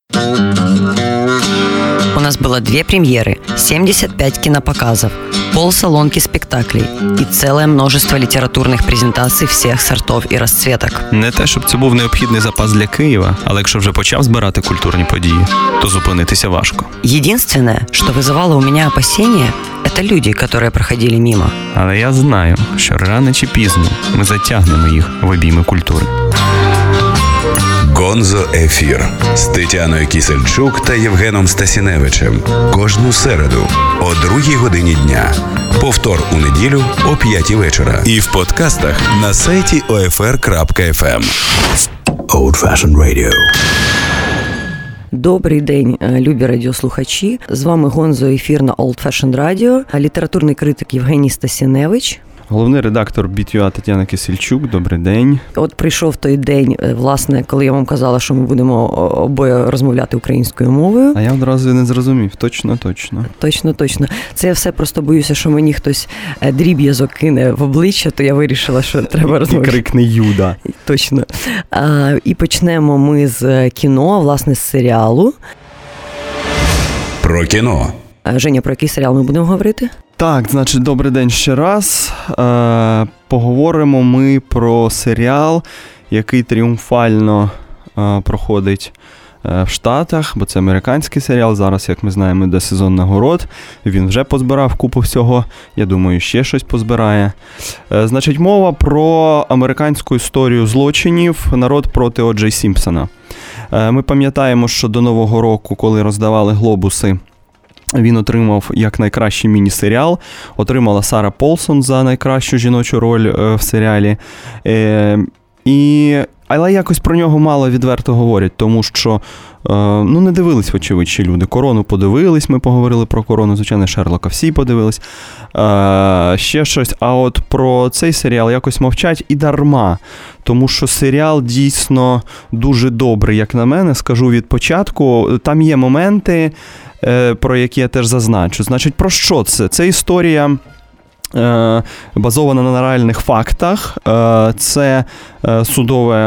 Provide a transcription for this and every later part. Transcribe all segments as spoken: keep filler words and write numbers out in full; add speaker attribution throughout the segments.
Speaker 1: У нас было две премьеры, семьдесят пять кинопоказов, полсалонки спектаклей и целое множество літературних презентацій всіх сортов і розцветок.
Speaker 2: Не те, щоб це був необхідний запас для Києва, але якщо вже почав збирати культурні події, то зупинитися важко.
Speaker 1: Единственное, что вызывало у меня опасения, это люди, которые проходили мимо.
Speaker 2: Але я знаю, що рано чи пізно ми затягнемо їх в обійми культури.
Speaker 3: Гонзо Ефір з Тетяною Кісельчук та Євгеном Стасіневичем. Кожну середу о другій годині дня. Повтор у неділю о п'ятій вечора. І в подкастах на сайті о еф ер крапка еф ем. Old Fashioned Radio.
Speaker 1: Добрий день, любі радіослухачі. З вами Гонзо Ефір на Old Fashioned Radio. Літературний критик Євгеній Стасіневич.
Speaker 2: Головний редактор бі ті ю Тетяна Кісельчук. Добрий день.
Speaker 1: От прийшов той день, власне, коли я вам казала, що ми будемо обоє розмовляти українською мовою.
Speaker 2: А я одразу не зрозумів. Точно, точно.
Speaker 1: Точно, точно. Це я все просто боюся, що мені хтось дріб'язок кине в обличчя, то я вирішила, що треба розмовляти.
Speaker 2: І крикне Юда.
Speaker 1: Точно. А, і почнемо ми з кіно, власне, з серіалу.
Speaker 3: Про кіно.
Speaker 1: Женя, про який серіал ми будемо говорити?
Speaker 2: Так, значить, добрий день ще раз. Е, поговоримо ми про серіал, який тріумфально е, проходить е, в Штатах, бо це американський серіал. Зараз, як ми знаємо, йде сезон нагород. Він вже позбирав купу всього. Я думаю, ще щось позбирає. Е, значить, мова про американську історію злочинів «Народ проти О Джей Сімпсона». Е, ми пам'ятаємо, що до Нового року, коли роздавали глобуси, він отримав як найкращий міні-серіал, отримала Сара Полсон за найкращу жіночу роль е, в серіалі. Е, і, але якось про нього мало відверто говорять, тому що е, ну, не дивились, вочевидь, ще люди. «Корону» подивились, ми поговорили про «Корону», звичайно, «Шерлока» всі подивились. Е, ще щось. А от про цей серіал якось мовчать і дарма. Тому що серіал дійсно дуже добрий, як на мене, скажу від початку. Там є моменти, про які я теж зазначу. Значить, про що це? Це історія е, базована на реальних фактах. Е, це е, судове,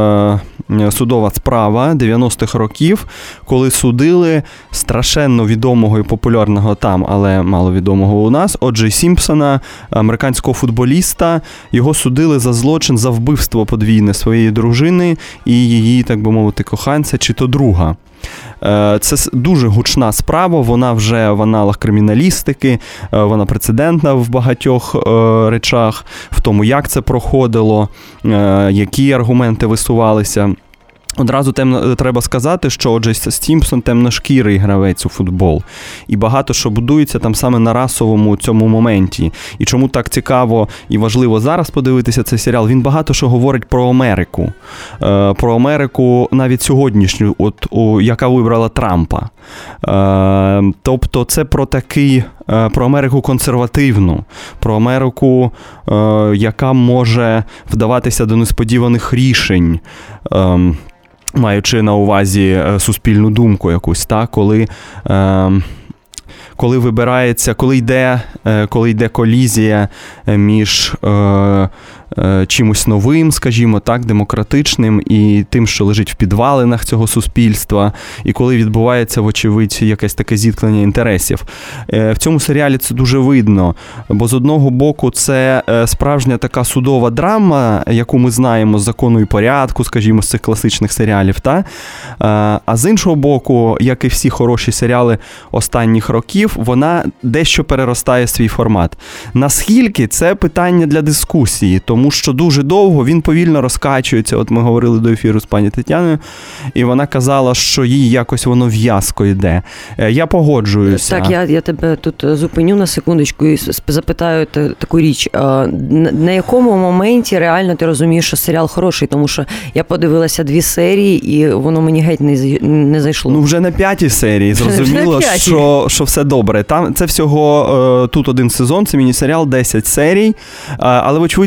Speaker 2: е, судова справа дев'яностих років, коли судили страшенно відомого і популярного там, але маловідомого у нас, О Джей Сімпсона, американського футболіста. Його судили за злочин, за вбивство подвійне своєї дружини і її, так би мовити, коханця чи то друга. Це дуже гучна справа, вона вже в аналах криміналістики, вона прецедентна в багатьох речах, в тому, як це проходило, які аргументи висувалися. Одразу темно, треба сказати, що О Джей Сімпсон темношкірий гравець у футбол. І багато що будується там саме на расовому цьому моменті. І чому так цікаво і важливо зараз подивитися цей серіал, він багато що говорить про Америку. Е, про Америку навіть сьогоднішню, от, о, яка вибрала Трампа. Е, тобто це про такий, е, про Америку консервативну, про Америку, е, яка може вдаватися до несподіваних рішень. Е, маючи на увазі суспільну думку якусь, так, коли, е, коли вибирається, коли йде, е, коли йде колізія між е, е, чимось новим, скажімо так, демократичним і тим, що лежить в підвалинах цього суспільства, і коли відбувається, вочевидь, якесь таке зіткнення інтересів. Е, в цьому серіалі це дуже видно, бо з одного боку це справжня така судова драма, яку ми знаємо з «Закону і порядку», скажімо, з цих класичних серіалів, та? Е, а з іншого боку, як і всі хороші серіали останніх років, вона дещо переростає свій формат. Наскільки це питання для дискусії, тому що дуже довго він повільно розкачується. От ми говорили до ефіру з пані Тетяною, і вона казала, що їй якось воно в'язко йде. Я погоджуюся.
Speaker 1: Так, я, я тебе тут зупиню на секундочку і запитаю таку річ. На якому моменті реально ти розумієш, що серіал хороший? Тому що я подивилася дві серії, і воно мені геть не, не зайшло.
Speaker 2: Ну, вже на п'ятій серії зрозуміло, що, що все добре. Там це всього, тут один сезон, це міні-серіал, десять серій, але, вочевидь, це буде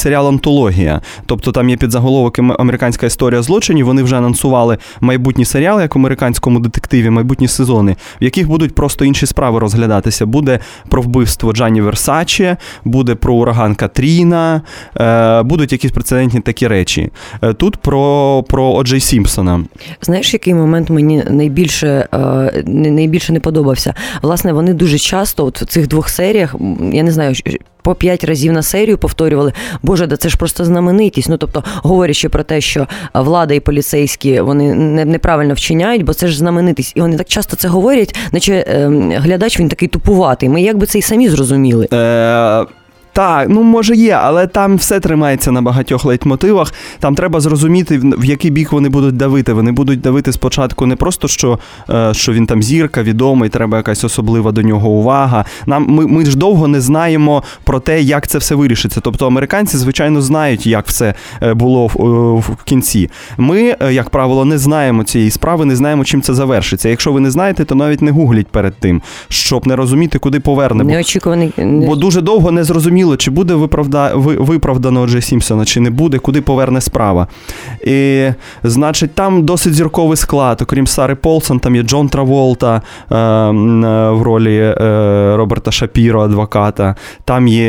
Speaker 2: серіал «Антологія». Тобто там є підзаголовок «Американська історія злочинів». Вони вже анонсували майбутній серіал, як в американському детективі, майбутні сезони, в яких будуть просто інші справи розглядатися. Буде про вбивство Джанні Версаче, буде про ураган Катріна, будуть якісь прецедентні такі речі. Тут про, про О Джей Сімпсона.
Speaker 1: Знаєш, який момент мені найбільше, найбільше не подобався? Власне, вони дуже часто от в цих двох серіях, я не знаю, по п'ять разів на серію повторювали, боже, да це ж просто знаменитість. Ну, тобто, говорячи про те, що влада і поліцейські, вони неправильно вчиняють, бо це ж знаменитість. І вони так часто це говорять, наче е, глядач, він такий тупуватий. Ми якби це й самі зрозуміли.
Speaker 2: Е- Так, ну може є, але там все тримається на багатьох лейтмотивах. Там треба зрозуміти, в який бік вони будуть давити. Вони будуть давити спочатку не просто, що, що він там зірка, відомий, треба якась особлива до нього увага. Нам, ми, ми ж довго не знаємо про те, як це все вирішиться. Тобто американці, звичайно, знають, як все було в, в кінці. Ми, як правило, не знаємо цієї справи, не знаємо, чим це завершиться. Якщо ви не знаєте, то навіть не гугліть перед тим, щоб не розуміти, куди поверне.
Speaker 1: Неочікуваний.
Speaker 2: Бо дуже довго не зрозуміло, чи буде виправда... виправдано О Джей Сімпсона, чи не буде, куди поверне справа. І, значить, там досить зірковий склад. Окрім Сари Полсон, там є Джон Траволта е, в ролі е, Роберта Шапіро, адвоката. Там є...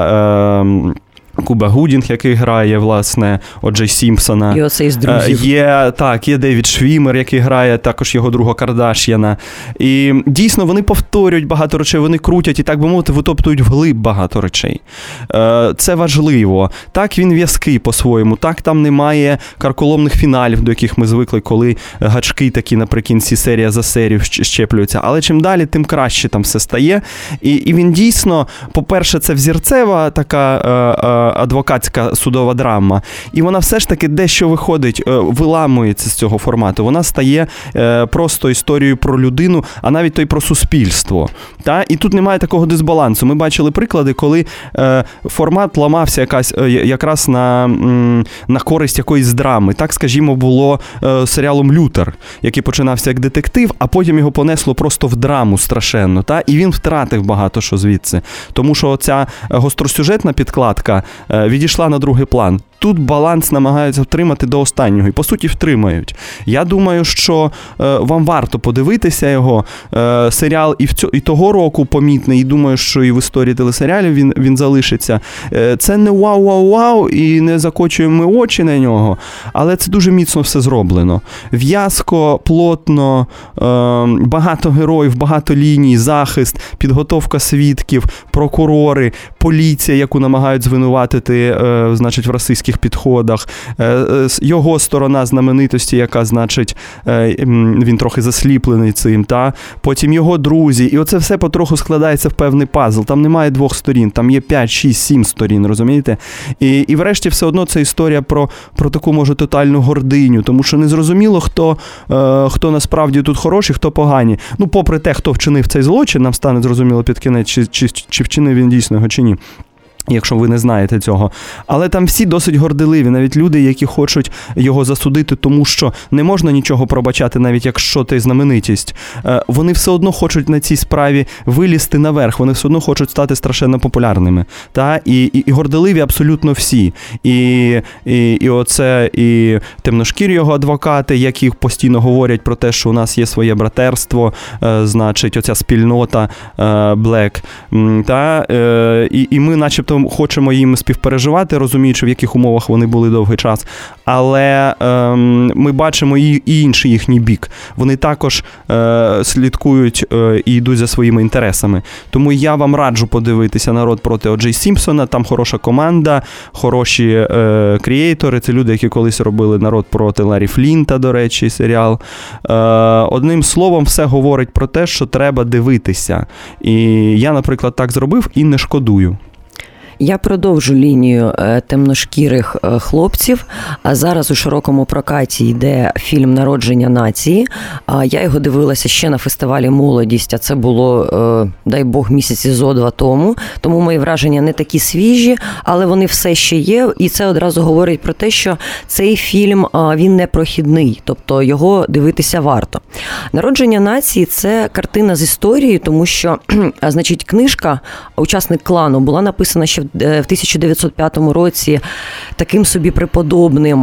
Speaker 2: Е, Куба Гудінг, який грає, власне, О Джей Сімпсона.
Speaker 1: І оцей з друзів.
Speaker 2: Є, так, є Девід Швімер, який грає також його друга Кардаш'яна. І дійсно вони повторюють багато речей, вони крутять і, так би мовити, витоптують вглиб багато речей. Це важливо. Так, він в'язкий по-своєму. Так, там немає карколомних фіналів, до яких ми звикли, коли гачки такі наприкінці серія за серію щеплюються. Але чим далі, тим краще там все стає. І, і він дійсно, по-перше, це взірцева така адвокатська судова драма. І вона все ж таки дещо виходить, виламується з цього формату. Вона стає просто історією про людину, а навіть то й про суспільство. Та? І тут немає такого дисбалансу. Ми бачили приклади, коли формат ламався якась, якраз на, на користь якоїсь драми. Так, скажімо, було серіалом «Лютер», який починався як детектив, а потім його понесло просто в драму страшенно. Та? І він втратив багато що звідси. Тому що ця гостросюжетна підкладка відійшла на другий план. Тут баланс намагаються втримати до останнього. І, по суті, втримають. Я думаю, що е, вам варто подивитися його. Е, серіал і, в цьо, і того року помітний, і думаю, що і в історії телесеріалів він, він залишиться. Е, це не вау-вау-вау, і не закочуємо ми очі на нього, але це дуже міцно все зроблено. В'язко, плотно, е, багато героїв, багато ліній, захист, підготовка свідків, прокурори, поліція, яку намагають звинуватити, е, значить, в расистських підходах, його сторона знаменитості, яка, значить, він трохи засліплений цим, та? Потім його друзі, і оце все потроху складається в певний пазл. Там немає двох сторін, там є п'ять, шість, сім сторін, розумієте? І, і врешті все одно це історія про, про таку, може, тотальну гординю, тому що незрозуміло, хто, хто насправді тут хороший, хто погані. Ну, попри те, хто вчинив цей злочин, нам стане зрозуміло під кінець, чи, чи, чи вчинив він дійсно його, чи ні. Якщо ви не знаєте цього. Але там всі досить горделиві, навіть люди, які хочуть його засудити, тому що не можна нічого пробачати, навіть якщо ти знаменитість. Вони все одно хочуть на цій справі вилізти наверх, вони все одно хочуть стати страшенно популярними. Та? І, і, і горделиві абсолютно всі. І, і, і оце, і темношкірі його адвокати, які постійно говорять про те, що у нас є своє братерство, значить, оця спільнота Black. Та? І, і ми начебто хочемо їм співпереживати, розуміючи, в яких умовах вони були довгий час. Але ем, ми бачимо і, і інший їхній бік. Вони також е, слідкують е, і йдуть за своїми інтересами. Тому я вам раджу подивитися «Народ проти О Джей Сімпсона». Там хороша команда, хороші е, крієйтори. Це люди, які колись робили «Народ проти Ларрі Флінта», до речі, серіал. Е, одним словом, все говорить про те, що треба дивитися. І я, наприклад, так зробив і не шкодую.
Speaker 1: Я продовжу лінію темношкірих хлопців, а зараз у широкому прокаті йде фільм «Народження нації». Я його дивилася ще на фестивалі «Молодість», а це було, дай Бог, місяці зо два тому, тому мої враження не такі свіжі, але вони все ще є, і це одразу говорить про те, що цей фільм, він не прохідний, тобто його дивитися варто. Народження нації – це картина з історії, тому що, значить, книжка «Учасник клану» була написана ще в тисяча дев'ятсот п'ятому році таким собі преподобним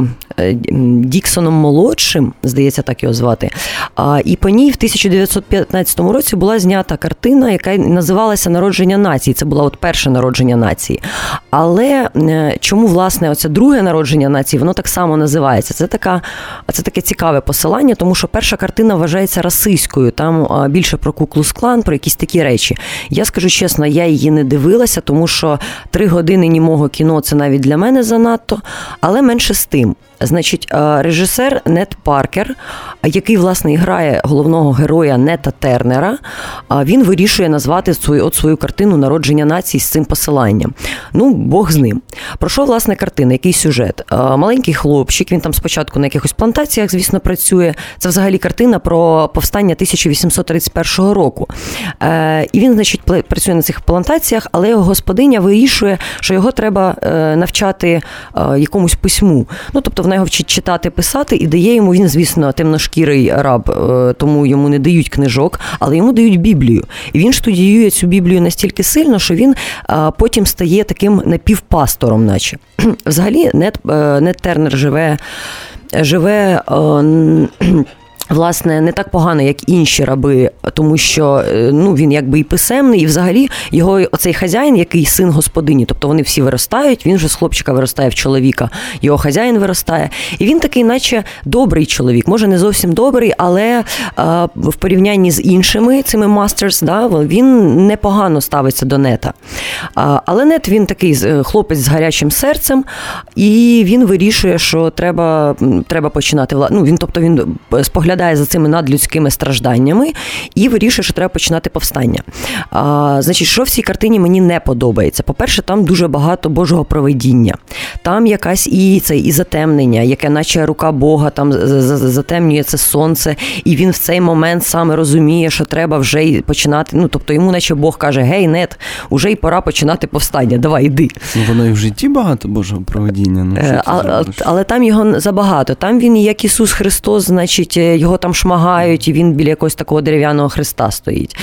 Speaker 1: Діксоном-молодшим, здається, так його звати. І по ній в тисяча дев'ятсот п'ятнадцятому році була знята картина, яка називалася «Народження нації». Це була от перше народження нації. Але чому, власне, оце друге народження нації, воно так само називається? Це, така, це таке цікаве посилання, тому що перша картина вважається расистською. Там більше про Ку-Клукс-Клан, про якісь такі речі. Я скажу чесно, я її не дивилася, тому що три години німого кіно – це навіть для мене занадто, але менше з тим. Значить, режисер Нет Паркер, який, власне, грає головного героя Нета Тернера, він вирішує назвати свою, от свою картину «Народження нації» з цим посиланням. Ну, Бог з ним. Про що, власне, картина? Який сюжет? Маленький хлопчик, він там спочатку на якихось плантаціях, звісно, працює. Це взагалі картина про повстання тисяча вісімсот тридцять першого року. І він, значить, працює на цих плантаціях, але його господиня вирішує, що його треба навчати якомусь письму. Ну, тобто, вона його вчить читати, писати, і дає йому, він, звісно, темношкірий раб, тому йому не дають книжок, але йому дають Біблію. І він студіює цю Біблію настільки сильно, що він потім стає таким напівпастором, наче. Взагалі, Нет, Нет Тернер живе, живе власне, не так погано, як інші раби, тому що, ну, він якби і писемний, і взагалі його оцей хазяїн, який син господині, тобто вони всі виростають, він же з хлопчика виростає в чоловіка, його хазяїн виростає, і він такий, наче добрий чоловік, може не зовсім добрий, але а, в порівнянні з іншими цими мастерс, да, він непогано ставиться до Нета. А, але Нет, він такий хлопець з гарячим серцем, і він вирішує, що треба, треба починати, ну, він, тобто він споглядає за цими надлюдськими стражданнями і вирішує, що треба починати повстання. А, значить, що в цій картині мені не подобається? По-перше, там дуже багато Божого провидіння. Там якась і це і затемнення, яке наче рука Бога там затемнює це сонце, і він в цей момент саме розуміє, що треба вже починати, ну, тобто йому наче Бог каже: "Гей, Нет, уже й пора починати повстання, давай, іди".
Speaker 2: Ну, воно і в житті багато Божого провидіння. Ну,
Speaker 1: а, а, але там його забагато. Там він, як Ісус Христос, значить, його там шмагають, і він біля якогось такого дерев'яного хреста стоїть.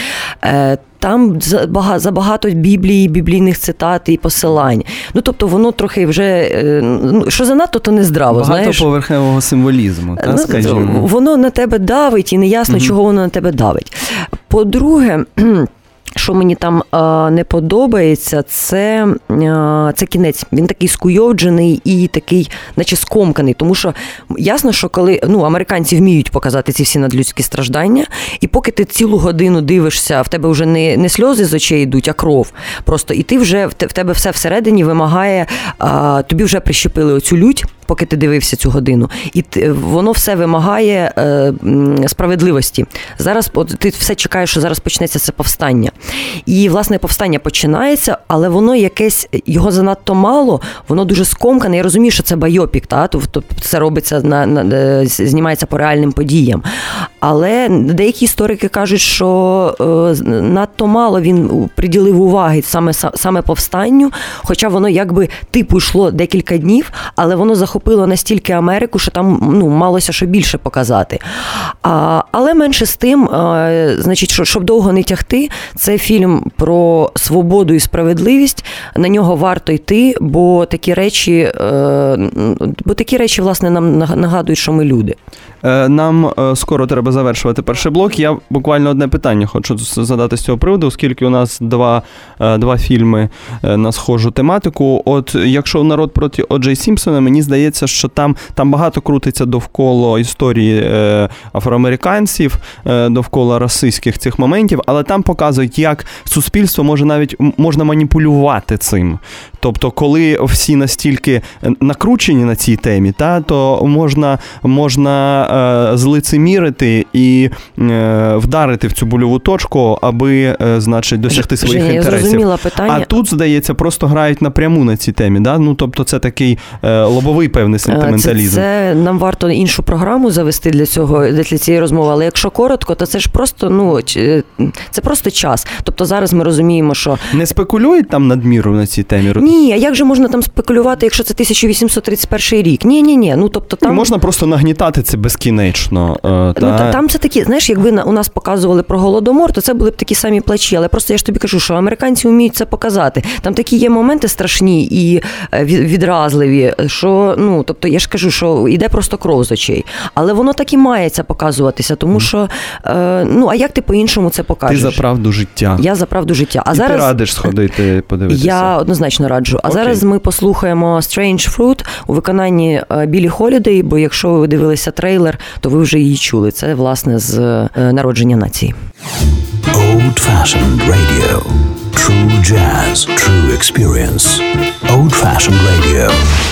Speaker 1: Там забагато Біблії, біблійних цитат і посилань. Ну, тобто, воно трохи вже, ну, що занадто, то не здраво,
Speaker 2: багато
Speaker 1: знаєш.
Speaker 2: Поверхневого символізму, та,
Speaker 1: ну,
Speaker 2: скажімо.
Speaker 1: Воно на тебе давить, і неясно, угу. чого воно на тебе давить. По-друге, що мені там а, не подобається, це, а, це кінець. Він такий скуйовджений і такий, наче скомканий. Тому що ясно, що коли, ну, американці вміють показати ці всі надлюдські страждання, і поки ти цілу годину дивишся, в тебе вже не, не сльози з очей йдуть, а кров. Просто, і ти вже, в тебе все всередині вимагає, а, тобі вже прищепили оцю лють, поки ти дивився цю годину. І ти, воно все вимагає е, справедливості. Зараз от, ти все чекаєш, що зараз почнеться це повстання. І, власне, повстання починається, але воно якесь, його занадто мало, воно дуже скомкане. Я розумію, що це байопік, та? Тобто це робиться, на, на, знімається по реальним подіям. Але деякі історики кажуть, що е, надто мало він приділив уваги саме, саме повстанню, хоча воно якби типу йшло декілька днів, але воно захопило настільки Америку, що там, ну, малося що більше показати. А, але менше з тим, а, значить, що, щоб довго не тягти, це фільм про свободу і справедливість, на нього варто йти, бо такі речі, е, бо такі речі, власне, нам нагадують, що ми люди.
Speaker 2: Нам скоро треба завершувати перший блок. Я буквально одне питання хочу задати з цього приводу, оскільки у нас два, два фільми на схожу тематику. От якщо «Народ проти О Джей Сімпсона», мені здається, що там, там багато крутиться довкола історії афроамериканців, довкола расистських цих моментів, але там показують, як суспільство може навіть можна маніпулювати цим. Тобто, коли всі настільки накручені на цій темі, та, то можна, можна е, злицемірити і е, вдарити в цю больову точку, аби, е, значить, досягти своїх
Speaker 1: Женя,
Speaker 2: інтересів.
Speaker 1: Я зрозуміла питання.
Speaker 2: А тут, здається, просто грають напряму на цій темі. Да? Ну, тобто, це такий е, лобовий певний сентименталізм.
Speaker 1: Це, це нам варто іншу програму завести для цього, для цієї розмови, але якщо коротко, то це ж просто, ну, це просто час. Тобто, зараз ми розуміємо, що...
Speaker 2: Не спекулюють там надміру на цій темі?
Speaker 1: ні, а як же можна там спекулювати, якщо це тисяча вісімсот тридцять перший рік? Ні-ні-ні, ну тобто там...
Speaker 2: Можна просто нагнітати це безкінечно. Та...
Speaker 1: Ну, та, там це такі, знаєш, якби у нас показували про Голодомор, то це були б такі самі плачі, але просто я ж тобі кажу, що американці вміють це показати. Там такі є моменти страшні і відразливі, що, ну, тобто я ж кажу, що йде просто кров з очей. Але воно так і має це показуватися, тому що, е, ну, а як ти по-іншому це покажеш?
Speaker 2: Ти за правду життя.
Speaker 1: Я за правду життя. А
Speaker 2: і
Speaker 1: зараз...
Speaker 2: ти радиш сходити, подивитися?
Speaker 1: Я однозначно раджу. А
Speaker 2: Окей.
Speaker 1: зараз ми послухаємо Strange Fruit у виконанні Біллі Холідей, бо якщо ви дивилися трейлер, то ви вже її чули. Це, власне, з народження нації.
Speaker 4: Old-fashioned radio. True jazz, true experience. Old-fashioned radio.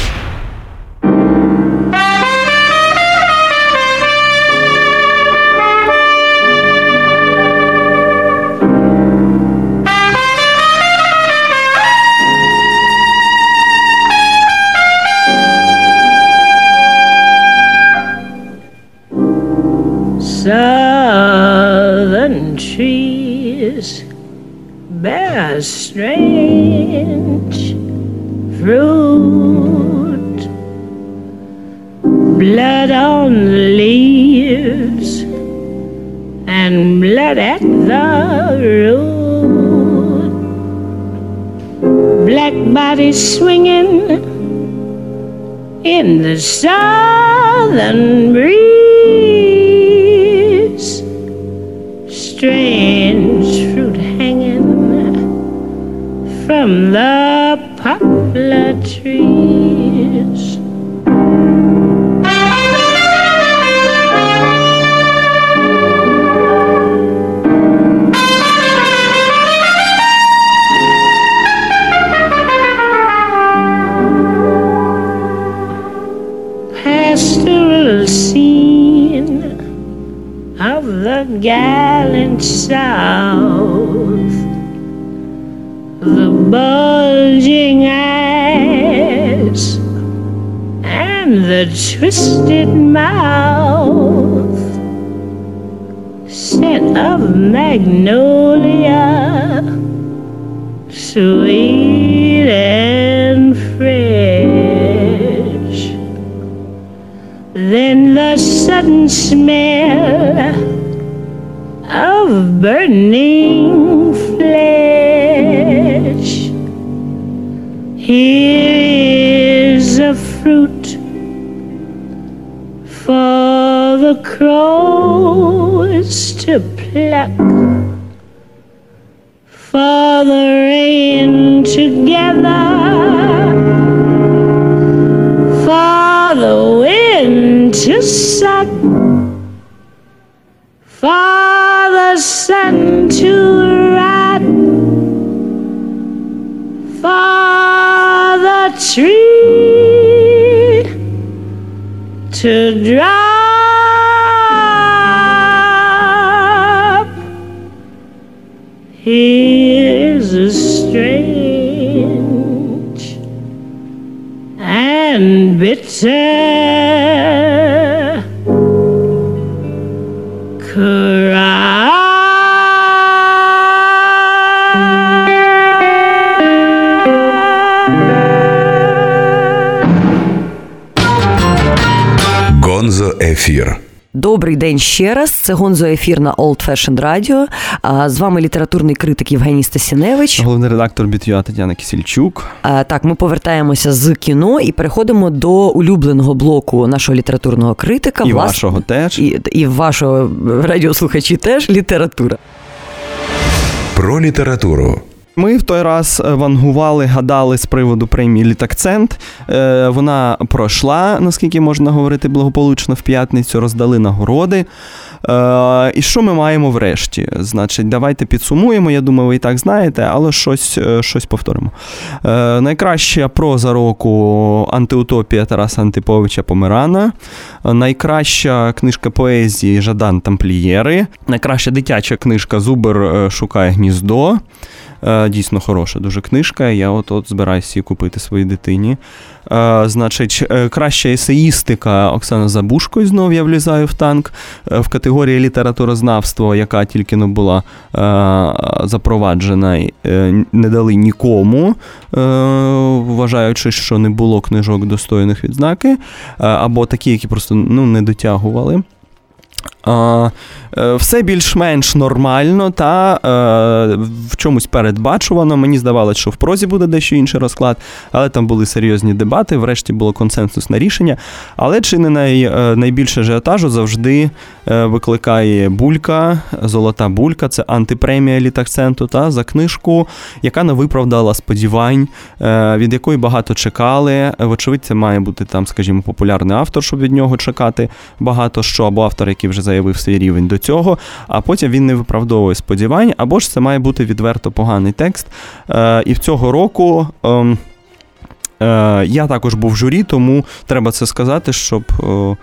Speaker 5: Southern trees bear strange fruit, blood on the leaves and blood at the root, black bodies swinging in the southern breeze, strange fruit hanging from the poplar trees. Pastoral scene of the gallant South, the bulging eyes and the twisted mouth, scent of magnolia, sweet and fresh. Then the sudden smell of burning flesh. Here is a fruit for the crows to pluck, for the rain together, for the wind to suck, for the sun to rot, for the tree to drop. Here's a strange and bitter
Speaker 3: Гонзо Ефір.
Speaker 1: Добрий день ще раз. Це Гонзо Ефір на Old Fashioned Radio. З вами літературний критик Євгеній Стасіневич.
Speaker 2: Головний редактор Біт'юа Тетяна Кисельчук.
Speaker 1: Так, ми повертаємося з кіно і переходимо до улюбленого блоку нашого літературного критика.
Speaker 2: І
Speaker 1: Влас...
Speaker 2: вашого теж.
Speaker 1: І, і вашого радіослухачі теж література.
Speaker 3: Про літературу.
Speaker 2: Ми в той раз вангували, гадали з приводу премії «Літакцент». Вона пройшла, наскільки можна говорити, благополучно в п'ятницю, роздали нагороди. І що ми маємо врешті? Значить, давайте підсумуємо, я думаю, ви і так знаєте, але щось, щось повторимо. Найкраща проза року «Антиутопія» Тараса Антиповича Померана. Найкраща книжка поезії «Жадан Тамплієри». Найкраща дитяча книжка «Зубр шукає гніздо». Дійсно хороша дуже книжка, я от-от збираюся її купити своїй дитині. Е, значить, краща есеїстика Оксана Забушко, і знов я влізаю в танк. Е, в категорії літературознавство, яка тільки не була е, запроваджена, е, не дали нікому, е, вважаючи, що не було книжок достойних відзнаки, е, або такі, які просто ну, не дотягували. Uh, все більш-менш нормально та uh, в чомусь передбачувано. Мені здавалося, що в прозі буде дещо інший розклад, але там були серйозні дебати, врешті було консенсусне рішення. Але чи не най, найбільше ажіотажу завжди uh, викликає Булька, Золота Булька, це антипремія Літакценту та за книжку, яка не виправдала сподівань, uh, від якої багато чекали. Вочевидь, це має бути там, скажімо, популярний автор, щоб від нього чекати багато що, або автор, який вже заявив свій рівень до цього, а потім він не виправдовує сподівань, або ж це має бути відверто поганий текст. Е, і в цього року е, е, я також був в журі, тому треба це сказати, щоб е,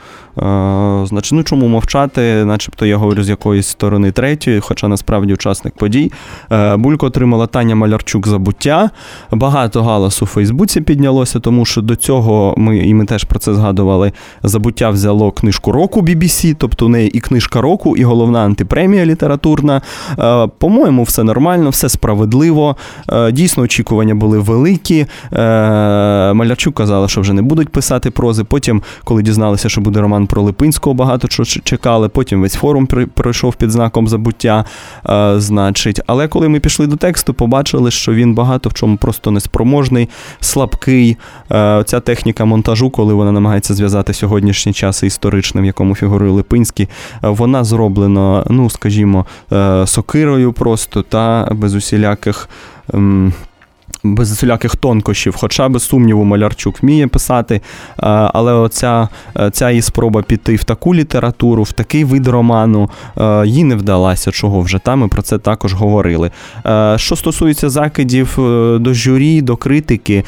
Speaker 2: е, значить, ну чому мовчати, начебто я говорю з якоїсь сторони третьої, хоча насправді учасник подій. Е, Бульку отримала Таня Малярчук «Забуття». Багато галасу у Фейсбуці піднялося, тому що до цього ми, і ми теж про це згадували, «Забуття» взяло книжку року бі бі сі, тобто у неї і книжка року, і головна антипремія літературна. Е, по-моєму, все нормально, все справедливо. Е, дійсно, очікування були великі. Е, Малярчук казала, що вже не будуть писати прози. Потім, коли дізналися, що буде роман про Липинського, багато чого чекали. Потім весь форум пройшов під знаком «Забуття». Е, значить. Але коли ми пішли до тексту, побачили, що він багато в чому просто неспроможний, слабкий. Е, ця техніка монтажу, коли вона намагається зв'язати сьогоднішній час історичним, в якому фігурує Липинський, е, вона зроблена, ну, скажімо, е, сокирою просто, та без усіляких... Ем, без усіляких тонкощів, хоча, без сумніву, Малярчук вміє писати, але оця, ця її спроба піти в таку літературу, в такий вид роману, їй не вдалася, чого вже там, ми про це також говорили. Що стосується закидів до журі, до критики,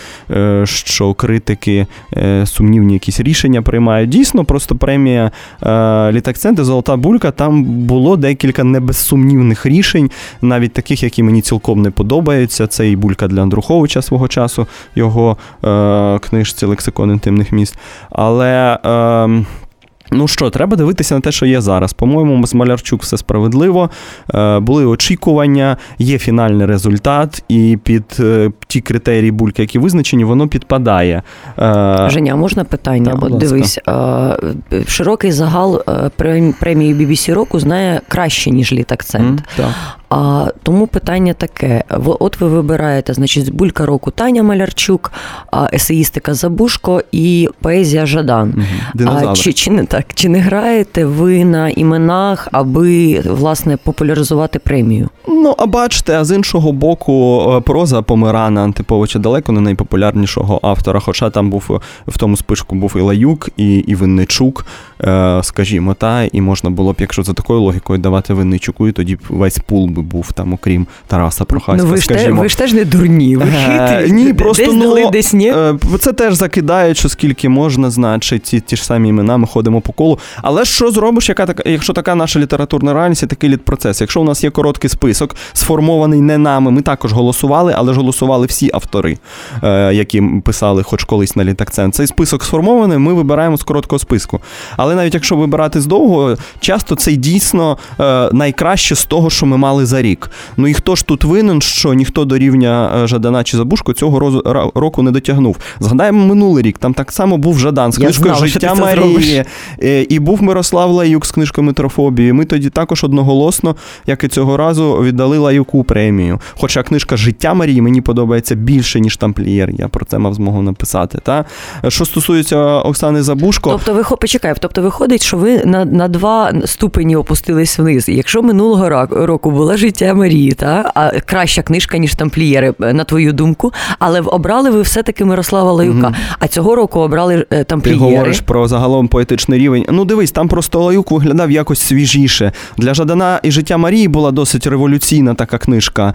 Speaker 2: що критики сумнівні якісь рішення приймають, дійсно, просто премія Літакцент і Золота Булька, там було декілька небезсумнівних рішень, навіть таких, які мені цілком не подобаються, це і Булька для Андруховича свого часу, його е, книжці «Лексикон інтимних міст». Але, е, ну що, треба дивитися на те, що є зараз. По-моєму, з Малярчук все справедливо, е, були очікування, є фінальний результат, і під е, ті критерії Бульки, які визначені, воно підпадає. Е,
Speaker 1: Женя, можна питання?
Speaker 2: Та,
Speaker 1: От дивись, е, широкий загал е, премії бі бі сі року знає краще, ніж Літакцент. Mm, так. А, тому питання таке. От ви вибираєте, значить, Булька року Таня Малярчук, есеїстика Забушко і поезія Жадан.
Speaker 2: Угу.
Speaker 1: А, чи, чи, не так, чи не граєте ви на іменах, аби, власне, популяризувати премію?
Speaker 2: Ну, а бачите, а з іншого боку, проза Помирана Антиповича далеко не найпопулярнішого автора, хоча там був, в тому списку був і Лаюк, і, і Винничук, скажімо, та, і можна було б, якщо за такою логікою, давати Винничуку, і тоді весь пул би був там, окрім Тараса Прохаська,
Speaker 1: ну, ви
Speaker 2: скажімо.
Speaker 1: Ж те, ви ж теж не дурні, ви хитрі.
Speaker 2: Ні, просто,
Speaker 1: десь
Speaker 2: ну,
Speaker 1: дали, десь ні.
Speaker 2: Це теж закидають, що скільки можна, значить, ті, ті ж самі імена, ми ходимо по колу. Але що зробиш, яка така, якщо така наша літературна реальність і такий літпроцес? Якщо у нас є короткий список, сформований не нами, ми також голосували, але ж голосували всі автори, які писали хоч колись на Літакцент. Цей список сформований, ми вибираємо з короткого списку. Але навіть якщо вибирати з довгого, часто це дійсно найкраще з того, що ми мали за рік. Ну і хто ж тут винен, що ніхто до рівня Жадана чи Забушко цього року не дотягнув? Згадаємо минулий рік, там так само був Жадан з книжкою «Життя Марії», і був Мирослав Лаюк з книжкою «Метрофобії». Ми тоді також одноголосно, як і цього разу, віддали Лаюку премію. Хоча книжка «Життя Марії» мені подобається більше, ніж «Тамплієр». Я про це мав змогу написати. Та? Що стосується Оксани Забушко...
Speaker 1: Тобто, ви, почекай, тобто виходить, що ви на, на два ступені опустились вниз. Якщо минулого року була «Життя Марії», та? А краща книжка, ніж «Тамплієри», на твою думку, але обрали ви все-таки Мирослава Лаюка. Угу. А цього року обрали «Тамплієри».
Speaker 2: Ти говориш про загалом поетичний рівень. Ну дивись, там просто Лаюк виглядав якось свіжіше. Для Жадана і «Життя Марії» була досить революційна така книжка.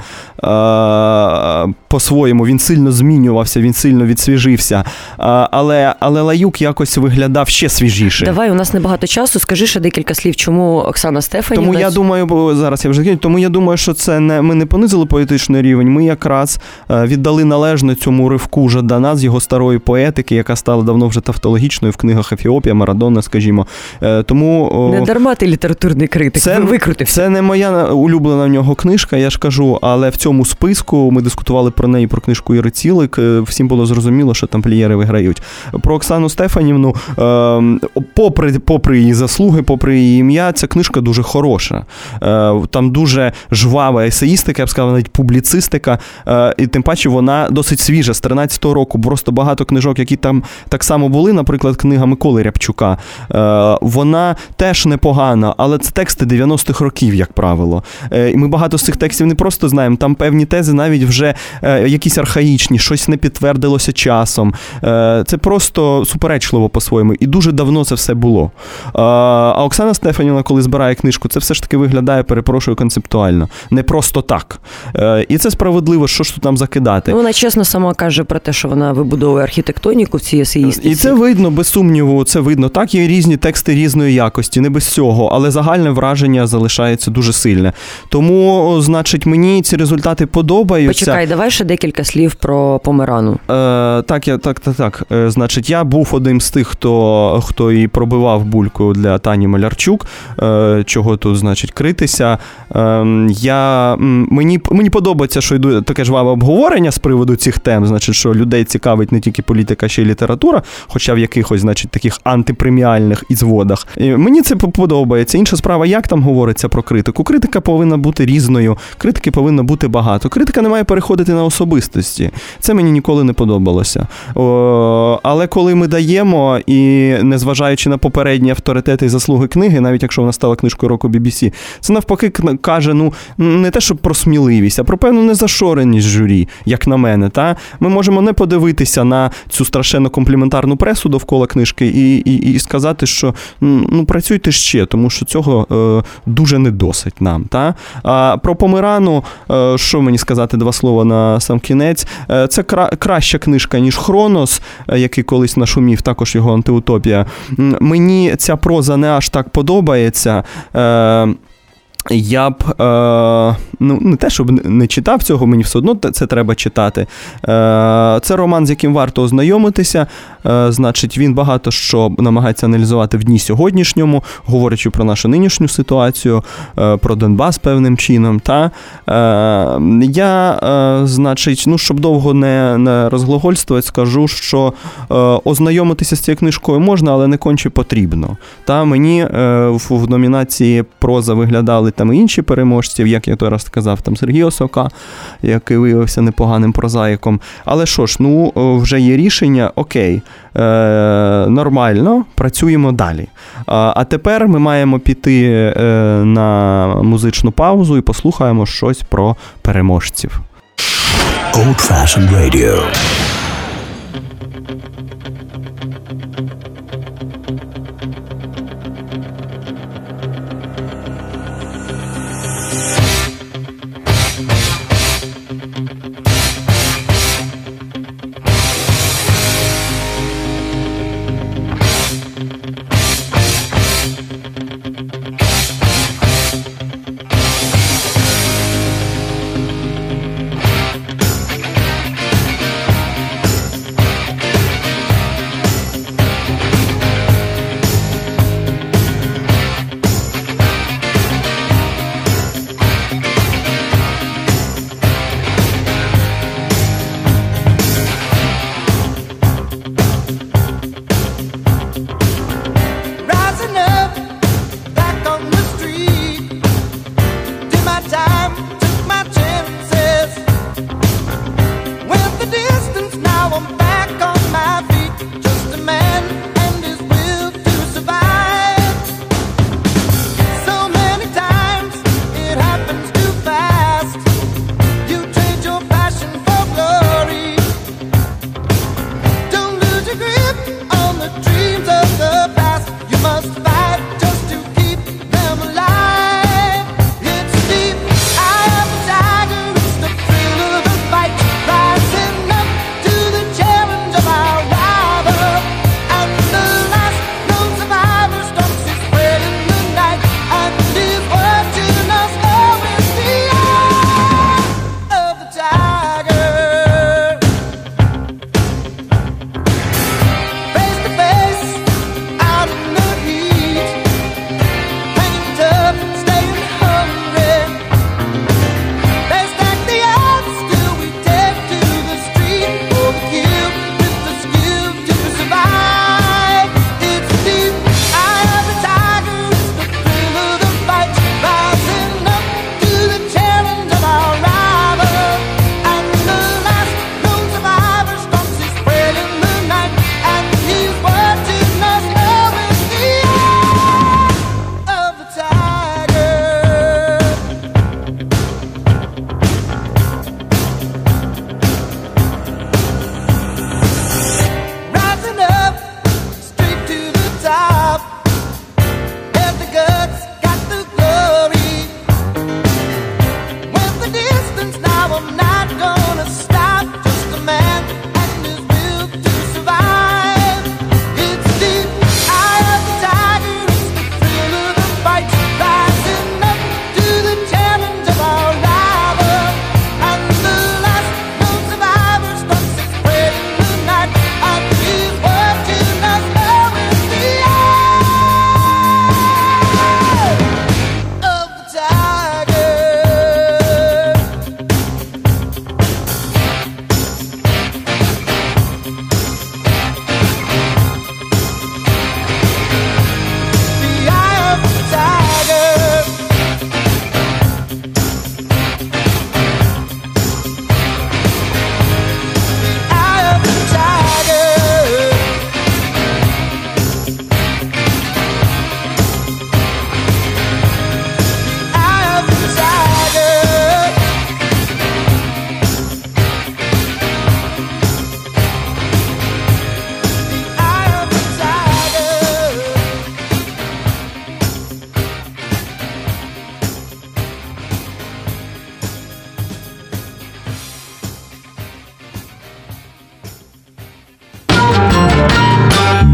Speaker 2: Е- по-своєму, він сильно змінювався, він сильно відсвіжився. Е- але, але Лаюк якось виглядав ще свіжіше.
Speaker 1: Давай, у нас небагато часу. Скажи ще декілька слів, чому Оксана Стефанівна...
Speaker 2: Тому я думаю, бо зараз я вже кажу, тому я думаю, що це не, ми не понизили поетичний рівень, ми якраз віддали належне цьому ривку Жадана з його старої поетики, яка стала давно вже тавтологічною в книгах Ефіопія, Марадона, скажімо. Тому...
Speaker 1: Не дарма ти літературний критик,
Speaker 2: це,
Speaker 1: викрутився.
Speaker 2: Це не моя улюблена в нього книжка, я ж кажу, але в цьому списку ми дискутували про неї, про книжку Іри Цілик, всім було зрозуміло, що тамплієри виграють. Про Оксану Стефанівну, попри, попри її заслуги, попри її ім'я, ця книжка дуже хороша. Там дуже жвава есеїстика, я б сказав, навіть публіцистика, і тим паче вона досить свіжа, з тринадцятого року. Просто багато книжок, які там так само були, наприклад, книга Миколи Рябчука, вона теж непогана, але це тексти дев'яностих років, як правило. І ми багато з цих текстів не просто знаємо, там певні тези навіть вже якісь архаїчні, щось не підтвердилося часом. Це просто суперечливо по-своєму. І дуже давно це все було. А Оксана Стефанівна, коли збирає книжку, це все ж таки виглядає, перепрошую, концептуально. Не просто так. І це справедливо, що ж тут нам закидати.
Speaker 1: Ну, вона чесно сама каже про те, що вона вибудовує архітектоніку в цій есеїстиці.
Speaker 2: І це видно, без сумніву, це видно. Так, є різні тексти різної якості, не без цього, але загальне враження залишається дуже сильне. Тому, значить, мені ці результати подобаються.
Speaker 1: Почекай, давай ще декілька слів про Померану.
Speaker 2: Е, так, я, так, так, так. Е, значить, я був одним з тих, хто, хто і пробивав бульку для Тані Малярчук, е, чого тут, значить, критися. Е, я, мені, мені подобається, що йде таке жваве обговорення з приводу цих тем, значить, що людей цікавить не тільки політика, ще й література, хоча в якихось, значить, таких антипреміальних ізводах. І мені це подобається. Інша справа, як там говориться про критику. Критика повинна бути різною, критики повинно бути багато. Критика не має переходити на особистості. Це мені ніколи не подобалося. О, але коли ми даємо, і незважаючи на попередні авторитети і заслуги книги, навіть якщо вона стала книжкою року бі бі сі, це навпаки каже, ну, не те, щоб про сміливість, а про певну незашореність журі, як на мене. Та? Ми можемо не подивитися на цю страшенно компліментарну пресу довкола книжки і, і, і сказати, що ну, працюйте ще, тому що цього е, дуже не досить нам. Та? А про Померану, е, що мені сказати два слова на сам кінець, е, це кра- краща книжка, ніж Хронос, е, який колись нашумів, також його антиутопія. Мені ця проза не аж так подобається. Е, Я б, е, ну, не те, щоб не читав цього, мені все одно це треба читати. Е, це роман, з яким варто ознайомитися. Е, значить, він багато що намагається аналізувати в дні сьогоднішньому, говорячи про нашу нинішню ситуацію, е, про Донбас певним чином. Та? Е, я, е, значить, ну, щоб довго не, не розглагольствувати, скажу, що е, ознайомитися з цією книжкою можна, але не конче потрібно. Та? Мені е, в, в номінації проза виглядали там і інші переможці, як я той раз сказав, там Сергій Осока, який виявився непоганим прозаїком. Але що ж, ну, вже є рішення, окей, е, нормально, працюємо далі. А, а тепер ми маємо піти е, на музичну паузу і послухаємо щось про переможців.
Speaker 4: Old Fashioned Radio.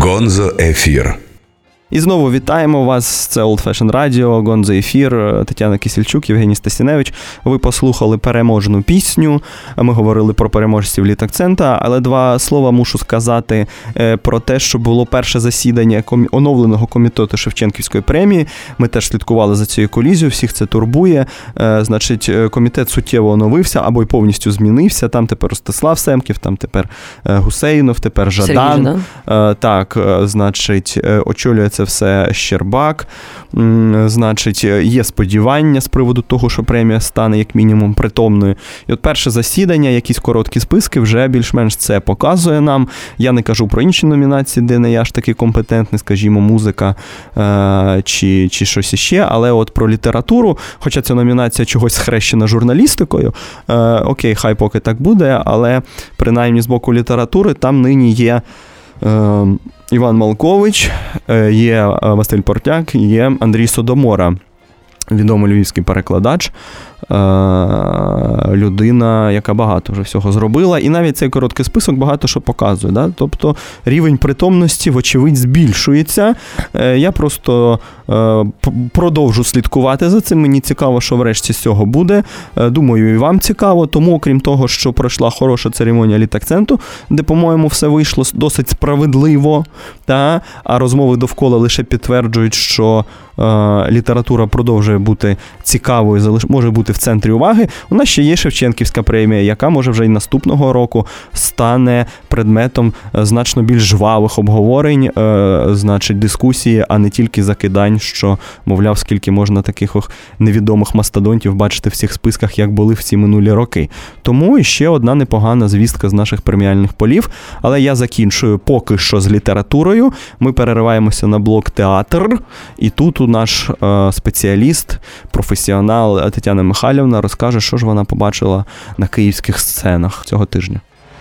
Speaker 3: Гонзо Ефір.
Speaker 2: І знову вітаємо вас, це Old Fashion Radio, Гонзо Ефір, Тетяна Кисельчук, Євгеній Стасіневич. Ви послухали переможну пісню, ми говорили про переможців Літакцента, але два слова мушу сказати про те, що було перше засідання оновленого комітету Шевченківської премії. Ми теж слідкували за цією колізією, всіх це турбує. Значить, комітет суттєво оновився або й повністю змінився. Там тепер Ростислав Семків, там тепер Гусейнов, тепер Жадан.
Speaker 1: Сергій Жадан.
Speaker 2: Так, значить, очолює це все Щербак. Значить, є сподівання з приводу того, що премія стане як мінімум притомною. І от перше засідання, якісь короткі списки, вже більш-менш це показує нам. Я не кажу про інші номінації, де не я ж такий компетентний, скажімо, музика е- чи, чи щось іще, але от про літературу, хоча ця номінація чогось схрещена журналістикою, е- окей, хай поки так буде, але принаймні з боку літератури там нині є е- Іван Малкович, є Василь Портяк, є Андрій Содомора, відомий львівський перекладач, людина, яка багато вже всього зробила. І навіть цей короткий список багато що показує. Да? Тобто рівень притомності, вочевидь, збільшується. Я просто продовжу слідкувати за цим. Мені цікаво, що врешті з цього буде. Думаю, і вам цікаво. Тому, окрім того, що пройшла хороша церемонія Літакценту, де, по-моєму, все вийшло досить справедливо, та? А розмови довкола лише підтверджують, що література продовжує бути цікавою, може бути в центрі уваги. У нас ще є Шевченківська премія, яка може вже й наступного року стане предметом значно більш жвавих обговорень, значить, дискусії, а не тільки закидань, що, мовляв, скільки можна таких невідомих мастодонтів бачити в цих списках, як були в ці минулі роки. Тому ще одна непогана звістка з наших преміальних полів. Але я закінчую поки що з літературою. Ми перериваємося на блок театр, і тут наш е, спеціаліст, професіонал Тетяна Михайлівна розкаже, що ж вона побачила на київських сценах цього тижня.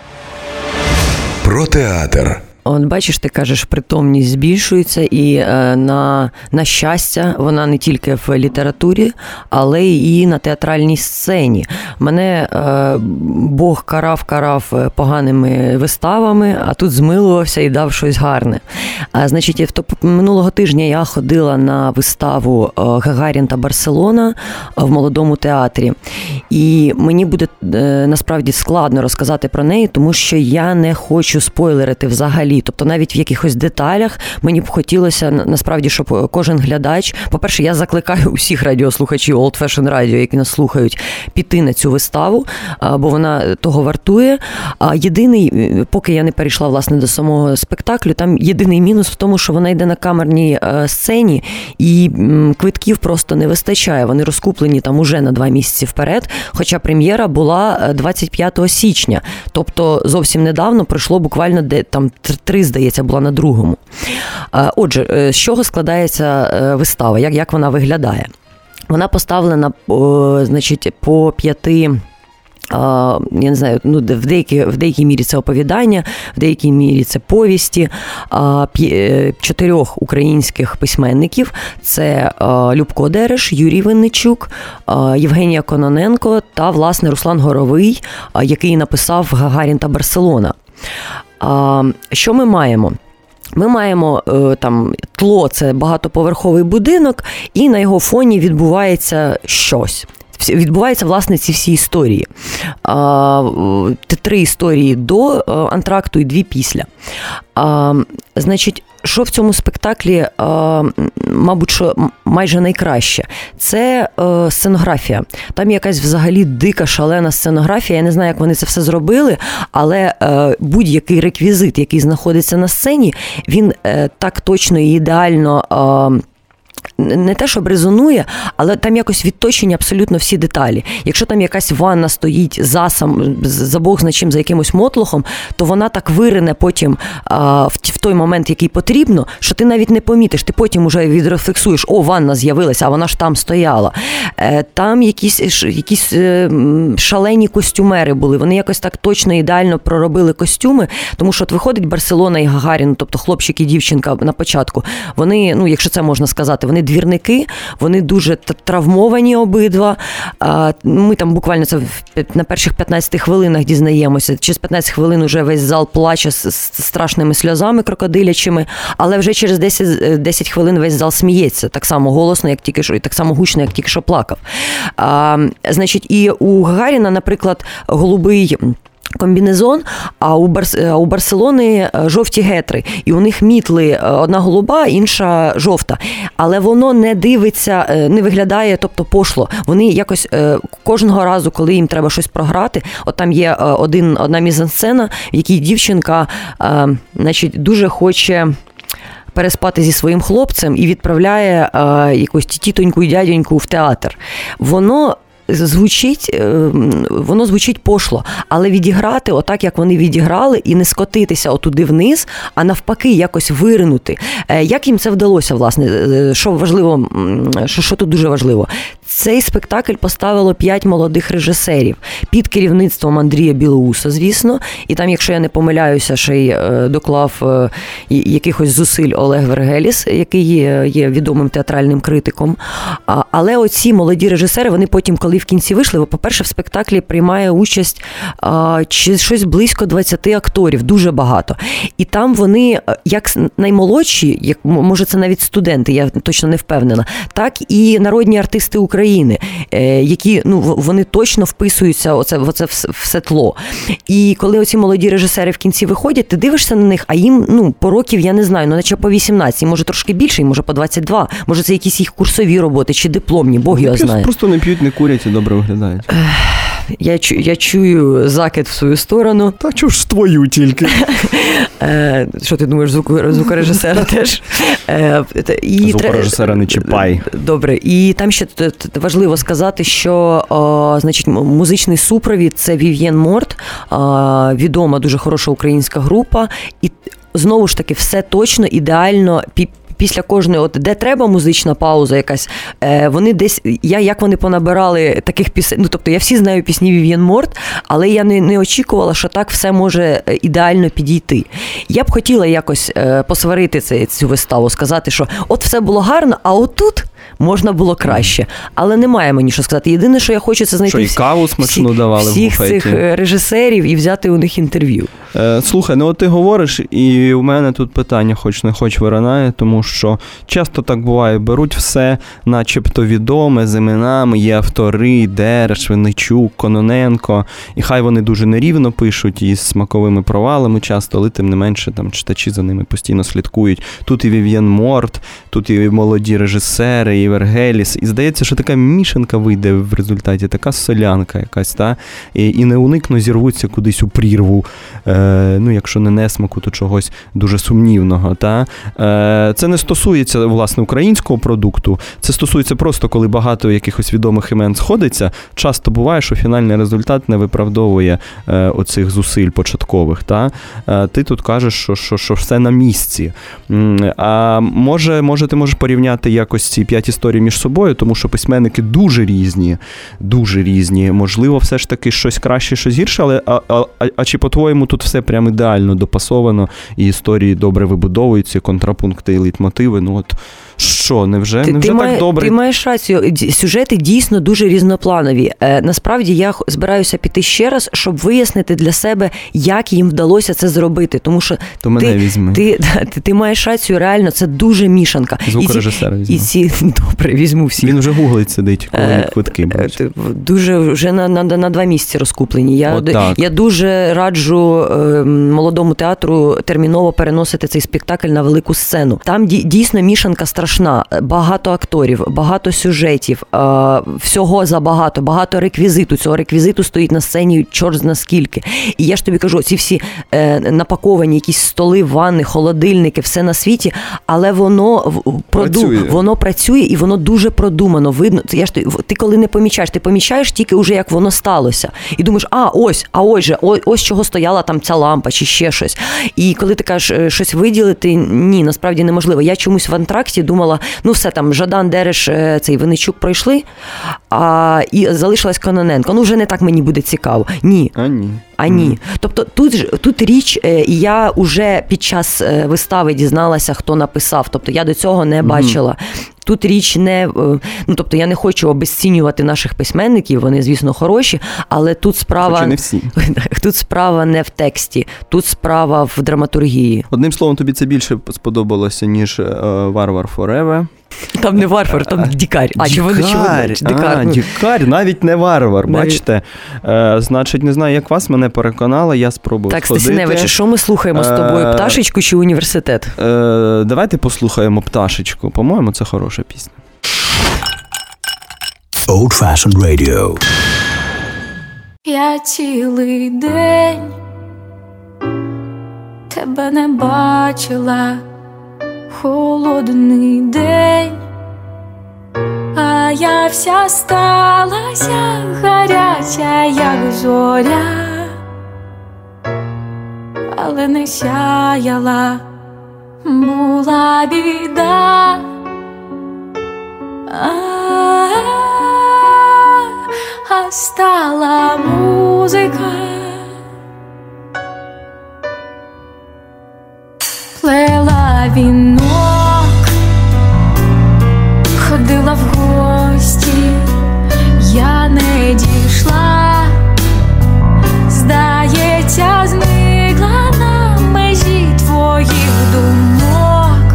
Speaker 3: Про театр.
Speaker 1: От бачиш, ти кажеш, притомність збільшується, і е, на, на щастя, вона не тільки в літературі, але і на театральній сцені. Мене е, Бог карав-карав поганими виставами, а тут змилувався і дав щось гарне. А, значить, в минулого тижня я ходила на виставу «Гагарін та Барселона» в Молодому театрі. І мені буде е, насправді складно розказати про неї, тому що я не хочу спойлерити взагалі. Тобто навіть в якихось деталях мені б хотілося, насправді, щоб кожен глядач, по-перше, я закликаю усіх радіослухачів Old Fashion Radio, які нас слухають, піти на цю виставу, бо вона того вартує. А єдиний, поки я не перейшла, власне, до самого спектаклю, там єдиний мінус в тому, що вона йде на камерній сцені, і квитків просто не вистачає. Вони розкуплені там уже на два місяці вперед, хоча прем'єра була двадцять п'ятого січня. Тобто зовсім недавно пройшло буквально де, там три, здається, була на другому. Отже, з чого складається вистава, як, як вона виглядає? Вона поставлена, значить, по п'яти, я не знаю, ну, в деякій, в деякій мірі це оповідання, в деякій мірі це повісті чотирьох українських письменників. Це Любко Дереш, Юрій Винничук, Євгенія Кононенко та, власне, Руслан Горовий, який написав «Гагарін та Барселона». Що ми маємо? Ми маємо там тло, це багатоповерховий будинок, і на його фоні відбувається щось. Відбуваються, власне, ці всі історії. Три історії до антракту і дві після. Значить, що в цьому спектаклі, мабуть, що майже найкраще? Це сценографія. Там якась взагалі дика, шалена сценографія. Я не знаю, як вони це все зробили, але будь-який реквізит, який знаходиться на сцені, він так точно і ідеально не те, щоб резонує, але там якось відточені абсолютно всі деталі. Якщо там якась ванна стоїть за сам, за Бог зна чим, за якимось мотлохом, то вона так вирине потім а, в, в той момент, який потрібно, що ти навіть не помітиш. Ти потім уже відрефлексуєш, о, ванна з'явилася, а вона ж там стояла. Е, там якісь, якісь е, шалені костюмери були. Вони якось так точно, ідеально проробили костюми, тому що от виходить Барселона і Гагарін, тобто хлопчик і дівчинка на початку. Вони, ну, якщо це можна сказати, вони двірники, вони дуже травмовані обидва. Ми там буквально це на перших п'ятнадцяти хвилинах дізнаємося. Через п'ятнадцять хвилин вже весь зал плаче з страшними сльозами крокодилячими, але вже через десять, десять хвилин весь зал сміється, так само голосно, як тільки що, і так само гучно, як тільки що плакав. А, значить, і у Гагаріна, наприклад, голубий комбінезон, а у, Барс... а у Барселони жовті гетри. І у них мітли одна голуба, інша жовта. Але воно не дивиться, не виглядає, тобто пошло. Вони якось кожного разу, коли їм треба щось програти, от там є один, одна мізансцена, в якій дівчинка, значить, дуже хоче переспати зі своїм хлопцем і відправляє якусь тітоньку і дяденьку в театр. Воно звучить, воно звучить пошло, але відіграти отак, як вони відіграли, і не скотитися отуди вниз, а навпаки якось виринути. Як їм це вдалося, власне? Що важливо, що, що тут дуже важливо? Цей спектакль поставило п'ять молодих режисерів під керівництвом Андрія Білоуса, звісно, і там, якщо я не помиляюся, ще й доклав якихось зусиль Олег Вергеліс, який є, є відомим театральним критиком. Але оці молоді режисери, вони потім, коли в кінці вийшли, бо, по-перше, в спектаклі приймає участь а, чи щось близько двадцяти акторів, дуже багато. І там вони, як наймолодші, як, може це навіть студенти, я точно не впевнена, так і народні артисти України, е, які, ну, вони точно вписуються оце, в оце все тло. І коли оці молоді режисери в кінці виходять, ти дивишся на них, а їм, ну, по років, я не знаю, ну, наче по вісімнадцять, може трошки більше, може по двадцять два, може це якісь їх курсові роботи чи дипломні, Бог його знає.
Speaker 2: Просто не п'ють, не курять і добре виглядають.
Speaker 1: Я, чу, я чую закид в свою сторону.
Speaker 2: Та чого ж твою тільки?
Speaker 1: Що ти думаєш, звукорежисера теж?
Speaker 2: Звукорежисера не чіпай.
Speaker 1: Добре. І там ще важливо сказати, що о, значить, музичний супровід – це Вів'єн Морт, о, відома, дуже хороша українська група. І знову ж таки, все точно, ідеально пі- Після кожної, от де треба музична пауза якась, е, вони десь, я як вони понабирали таких пісень, ну тобто я всі знаю пісні Вів'єн Морт, але я не, не очікувала, що так все може ідеально підійти. Я б хотіла якось е, посварити це, цю виставу, сказати, що от все було гарно, а отут можна було краще. Але немає мені що сказати. Єдине, що я хочу, це знайти
Speaker 2: що, і каву смачну
Speaker 1: всі,
Speaker 2: давали
Speaker 1: всіх
Speaker 2: в буфеті.
Speaker 1: Цих режисерів і взяти у них інтерв'ю.
Speaker 2: Е, слухай, ну от ти говориш, і у мене тут питання хоч не хоч виринає, тому що часто так буває, беруть все начебто відоме, з іменами, є автори, Дереш, Винничук, Кононенко, і хай вони дуже нерівно пишуть і з смаковими провалами часто, але тим не менше там читачі за ними постійно слідкують. Тут і Вів'єн Морт, тут і молоді режисери, і Вергеліс, і здається, що така мішанка вийде в результаті, така солянка якась, та? І, і не уникно зірвуться кудись у прірву, е, ну якщо не несмаку, то чогось дуже сумнівного, та? Е, це не стосується, власне, українського продукту, це стосується просто, коли багато якихось відомих імен сходиться, часто буває, що фінальний результат не виправдовує е, оцих зусиль початкових, та? Е, ти тут кажеш, що, що, що все на місці. А може, може ти можеш порівняти якось ці п'ять історій між собою, тому що письменники дуже різні, дуже різні. Можливо, все ж таки щось краще, щось гірше, але а, а, а чи по-твоєму тут все прям ідеально допасовано, і історії добре вибудовуються, контрапункти і лейтмотиви, ну от що, невже,
Speaker 1: ти,
Speaker 2: невже
Speaker 1: ти
Speaker 2: так
Speaker 1: має,
Speaker 2: добре?
Speaker 1: Ти маєш рацію, сюжети дійсно дуже різнопланові. Е, насправді я збираюся піти ще раз, щоб вияснити для себе, як їм вдалося це зробити, тому що
Speaker 2: То мене
Speaker 1: ти,
Speaker 2: візьми.
Speaker 1: Ти, ти, ти маєш рацію, реально, це дуже мішанка.
Speaker 2: Звукорежисера візьму.
Speaker 1: І ці, добре, візьму всіх.
Speaker 2: Він вже гуглить сидить, коли
Speaker 1: Е,
Speaker 2: квитки будуть.
Speaker 1: Дуже, вже на, на, на два місяці розкуплені. Я, я дуже раджу е, молодому театру терміново переносити цей спектакль на велику сцену. Там дійсно мішанка страшна. Багато акторів, багато сюжетів, е, всього забагато, багато реквізиту. Цього реквізиту стоїть на сцені чорт зна скільки. І я ж тобі кажу, ці всі е, напаковані якісь столи, ванни, холодильники, все на світі, але воно працює. Воно працює і воно дуже продумано. Видно, я ж ти коли не помічаєш, ти помічаєш тільки вже як воно сталося. І думаєш, а ось, а ось же, ось, ось чого стояла там ця лампа чи ще щось. І коли ти кажеш щось виділити, ні, насправді неможливо. Я чомусь в антракті думала, ну все там, Жадан, Дереш, цей Винничук пройшли, а і залишилась Кононенко. Ну вже не так мені буде цікаво. Ні.
Speaker 2: А ні.
Speaker 1: А ні. Mm. Тобто тут, тут річ, я вже під час вистави дізналася, хто написав. Тобто я до цього не бачила. тут річ не, ну тобто я не хочу обезцінювати наших письменників, вони, звісно, хороші, але тут справа
Speaker 2: Хоча не всі.
Speaker 1: Тут справа не в тексті, тут справа в драматургії.
Speaker 2: Одним словом, тобі це більше сподобалося, ніж Варвар Фореве.
Speaker 1: Там не варвар, там дікар. А, чи вони чи вони?
Speaker 2: Дікар, а, дікар, навіть не варвар, навіть. Бачите? Е, значить, не знаю, як вас, мене переконали, я спробую
Speaker 1: так,
Speaker 2: сходити.
Speaker 1: Так, Стасіневич, що ми слухаємо з тобою, пташечку чи університет?
Speaker 2: Е, давайте послухаємо пташечку. По-моєму, це хороша пісня.
Speaker 4: Old Fashioned Radio.
Speaker 6: Я цілий день тебе не бачила, холодний день, а я вся сталася гаряча, як зоря, але не сяяла, була біда. А стала музика, плела вінок, ходила в гості, я не дійшла, здається, зникла на межі твоїх думок,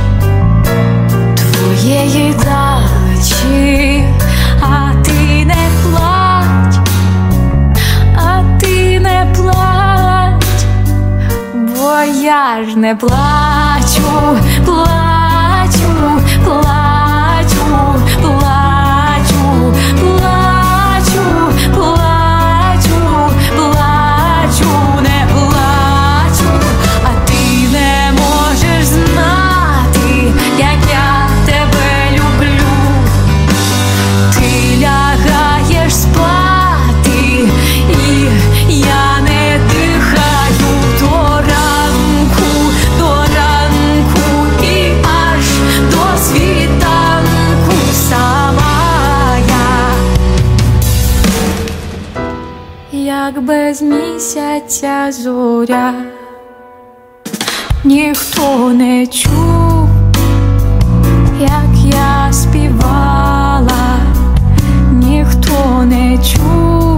Speaker 6: твоєї дачі, а ти не плач, а ти не плач, бо я ж не плачу, плачу, плачу, плачу, плачу, плачу, плачу, не плачу, а ти не можеш знати, як я тебе люблю. Ти лягаєш спати, і я не дихаю до ранку, до ранку і аж до світанку сама я, як без місяця зоря, ніхто не чув, як я співала, ніхто не чув,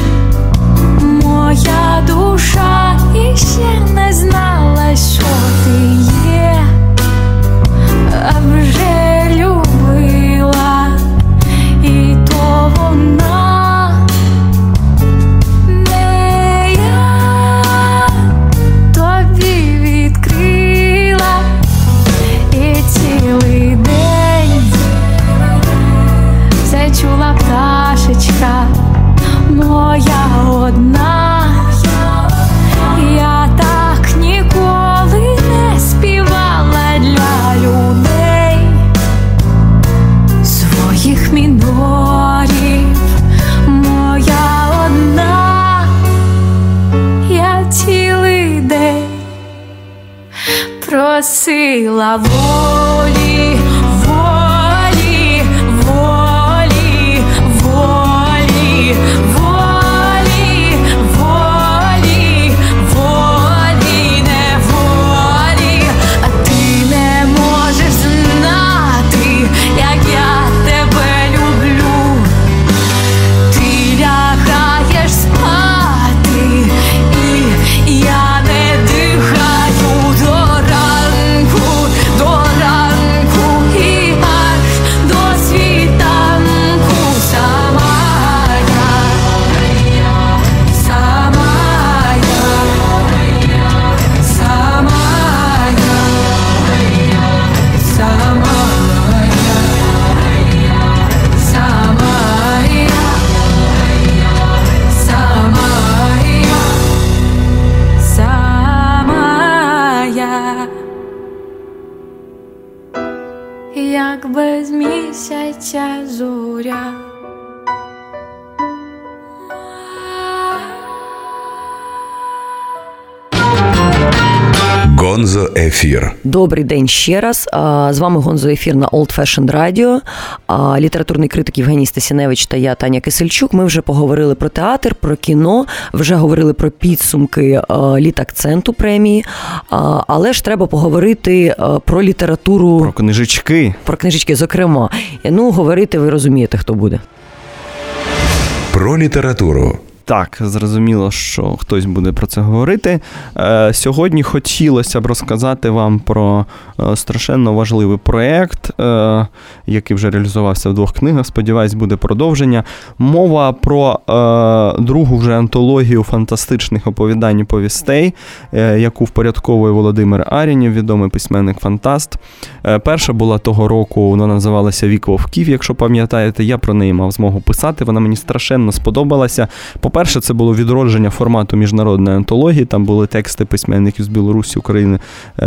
Speaker 6: моя душа іще не знала, що ти є, а вже любила, і то вона, не я, тобі відкрила, і цілий день зачула пташечка моя одна, я так ніколи не співала для людей своїх мінорів, моя одна, я цілий день просила волі, волі, волі, волі, волі, волі, волі, не волі, а ти не можеш знати, як я тебе люблю. Ти лягаєш спати, і я не дихаю до ранку, до ранку
Speaker 3: Гонзо Ефір.
Speaker 1: Добрий день ще раз. З вами Гонзо Ефір на Old Fashioned Radio. Літературний критик Євгеній Стасіневич та я, Таня Кисельчук. Ми вже поговорили про театр, про кіно, вже говорили про підсумки Літакценту премії. Але ж треба поговорити про літературу.
Speaker 2: Про книжечки.
Speaker 1: Про книжечки, зокрема. Ну, говорити ви розумієте, хто буде.
Speaker 3: Про літературу.
Speaker 2: Так, зрозуміло, що хтось буде про це говорити. Сьогодні хотілося б розказати вам про страшенно важливий проєкт, який вже реалізувався в двох книгах. Сподіваюсь, буде продовження. Мова про другу вже антологію фантастичних оповідань і повістей, яку впорядковує Володимир Арінів, відомий письменник-фантаст. Перша була того року, вона називалася «Вік вовків», якщо пам'ятаєте. Я про неї мав змогу писати, вона мені страшенно сподобалася. По-перше, це було відродження формату міжнародної антології, там були тексти письменників з Білорусі, України,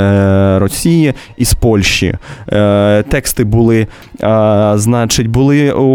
Speaker 2: Росії і з Польщі. Тексти були, значить, були у,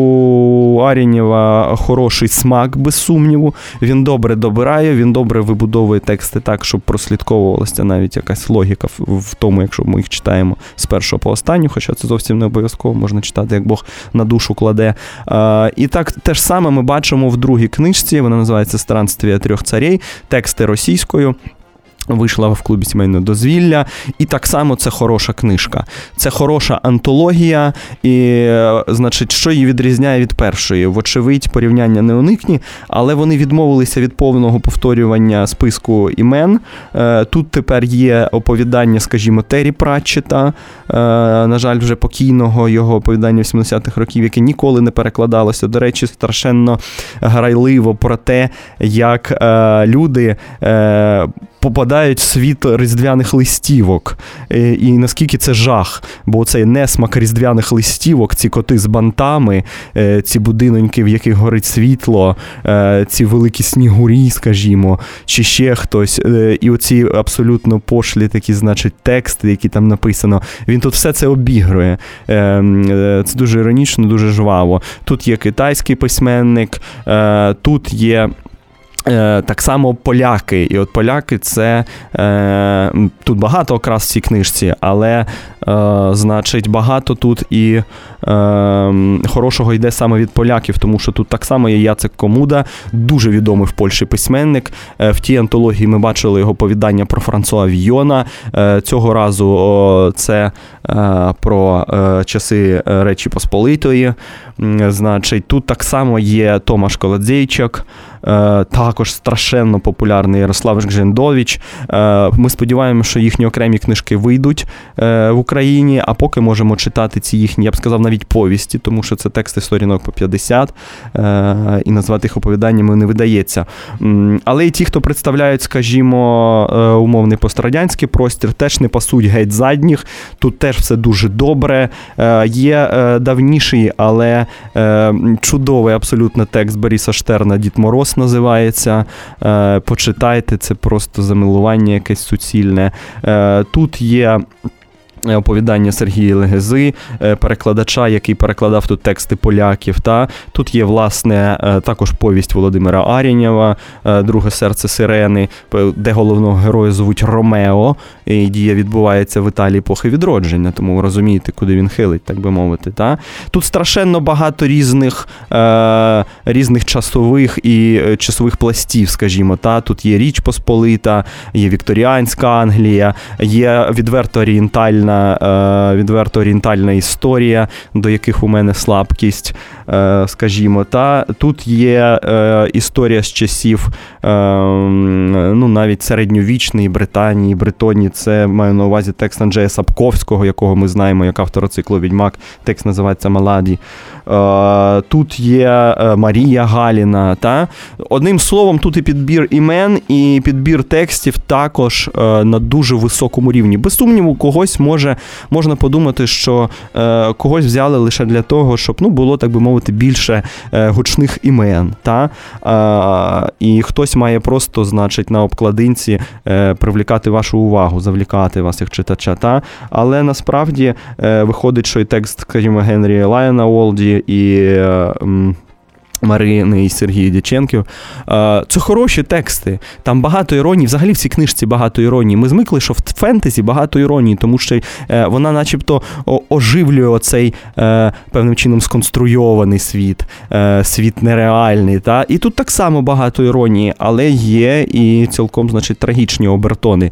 Speaker 2: у Арінєва хороший смак, без сумніву. Він добре добирає, він добре вибудовує тексти так, щоб прослідковувалася навіть якась логіка в, в тому, якщо ми їх читаємо з першого по останню, хоча це зовсім не обов'язково, можна читати, як Бог на душу кладе. І так, те ж саме ми бачимо в другій книжці, вона називається «Странствія трьох царей», тексти російською. Вийшла в клубі сімейного дозвілля, і так само це хороша книжка. Це хороша антологія, і, значить, що її відрізняє від першої? Вочевидь, порівняння не уникні, але вони відмовилися від повного повторювання списку імен. Тут тепер є оповідання, скажімо, Террі Пратчета, на жаль, вже покійного, його оповідання вісімдесятих років, яке ніколи не перекладалося. До речі, страшенно грайливо про те, як люди попадають в світ різдвяних листівок. І наскільки це жах, бо цей несмак різдвяних листівок, ці коти з бантами, ці будиноньки, в яких горить світло, ці великі снігурі, скажімо, чи ще хтось, і оці абсолютно пошлі такі, значить, тексти, які там написано, він тут все це обігрує. Це дуже іронічно, дуже жваво. Тут є китайський письменник, тут є так само поляки. І от поляки це, е, тут багато окрас в цій книжці, але, е, значить, багато тут і е, хорошого йде саме від поляків, тому що тут так само є Яцек Комуда, дуже відомий в Польщі письменник. Е, в тій антології ми бачили його повідання про Франсуа Війона. Е, цього разу о, це е, про е, часи Речі Посполитої. Е, значить, тут так само є Томаш Колодзейчик, е, також страшенно популярний Ярослав Гжендович. Ми сподіваємося, що їхні окремі книжки вийдуть в Україні, а поки можемо читати ці їхні, я б сказав, навіть повісті, тому що це тексти сторінок по п'ятдесят, і назвати їх оповіданнями не видається. Але і ті, хто представляють, скажімо, умовний пострадянський простір, теж не пасуть геть задніх, тут теж все дуже добре. Є давніший, але чудовий абсолютно текст Бориса Штерна «Дід Мороз» називається. Почитайте, це просто замилування якесь суцільне. Тут є оповідання Сергія Легези, перекладача, який перекладав тут тексти поляків. Та? Тут є, власне, також повість Володимира Арінєва «Друге серце сирени», де головного героя звуть Ромео, і дія відбувається в Італії епохи відродження, тому ви розумієте, куди він хилить, так би мовити. Та? Тут страшенно багато різних, е, різних часових і часових пластів, скажімо. Та? Тут є Річ Посполита, є вікторіанська Англія, є відверто орієнтальна відверто орієнтальна історія, до яких у мене слабкість, скажімо. Та тут є історія з часів, ну, навіть середньовічної Британії, Бретонії. Це маю на увазі текст Анджея Сапковського, якого ми знаємо як автора циклу «Відьмак». Текст називається «Маладі». Тут є Марія Галіна. Та? Одним словом, тут і підбір імен, і підбір текстів також на дуже високому рівні. Без сумніву, когось може, можна подумати, що когось взяли лише для того, щоб, ну, було, так би мовити, більше гучних імен. Та? І хтось має просто, значить, на обкладинці привлікати вашу увагу, завлікати вас як читача. Та? Але насправді виходить, що і текст, скажімо, Генрі Лайона Олді, і Марини і Сергія Дяченків. Це хороші тексти. Там багато іронії. Взагалі в цій книжці багато іронії. Ми звикли, що в фентезі багато іронії, тому що вона начебто оживлює оцей певним чином сконструйований світ, світ нереальний. Та? І тут так само багато іронії, але є і цілком, значить, трагічні обертони.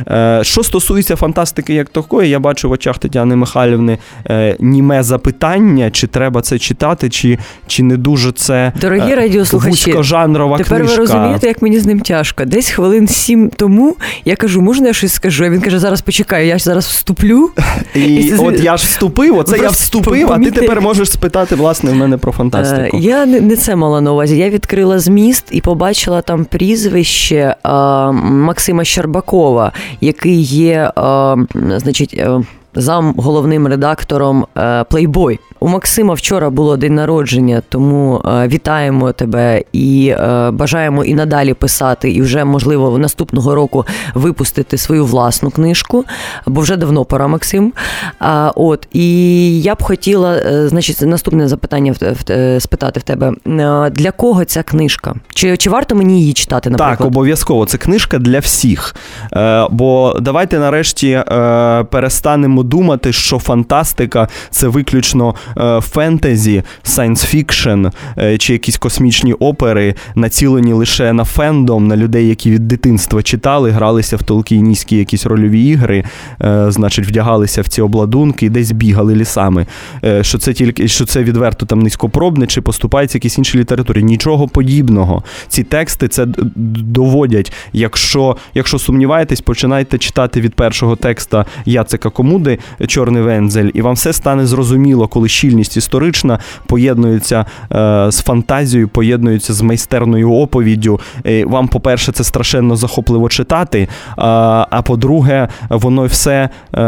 Speaker 2: Що стосується фантастики як такої, я бачу в очах Тетяни Михайлівни німе запитання, чи треба це читати, чи, чи не дуже це
Speaker 1: Дорогі радіослухачі,
Speaker 2: вузькожанрова
Speaker 1: тепер
Speaker 2: книжка.
Speaker 1: Ви розумієте, як мені з ним тяжко. Десь хвилин сім тому я кажу, можна я щось скажу? А він каже, зараз почекай, я ж зараз вступлю.
Speaker 2: І, і це... от я ж вступив, оце я вступив, а ти тепер можеш спитати, власне, в мене про фантастику.
Speaker 1: Я не, не це мала на увазі. Я відкрила зміст і побачила там прізвище а, Максима Щербакова, який є, а, значить, зам головним редактором Playboy. У Максима вчора було день народження, тому е, вітаємо тебе і е, бажаємо і надалі писати, і вже, можливо, наступного року випустити свою власну книжку, бо вже давно пора, Максим. А, от, і я б хотіла, е, значить, наступне запитання в, в, спитати в тебе. Е, для кого ця книжка? Чи, чи варто мені її читати, наприклад?
Speaker 2: Так, обов'язково. Це книжка для всіх. Е, бо давайте нарешті е, перестанемо думати, що фантастика – це виключно фентезі, сайнс-фікшн чи якісь космічні опери, націлені лише на фендом, на людей, які від дитинства читали, гралися в толкінійські якісь рольові ігри, значить, вдягалися в ці обладунки і десь бігали лісами. Що це тільки, що це відверто там низькопробне, чи поступається якісь інші літературі. Нічого подібного. Ці тексти це доводять. Якщо, якщо сумніваєтесь, починайте читати від першого текста Яцека Комуди «Чорний вензель», і вам все стане зрозуміло, коли щільність історична поєднується е, з фантазією, поєднується з майстерною оповіддю. І вам, по-перше, це страшенно захопливо читати, а, а по-друге, воно все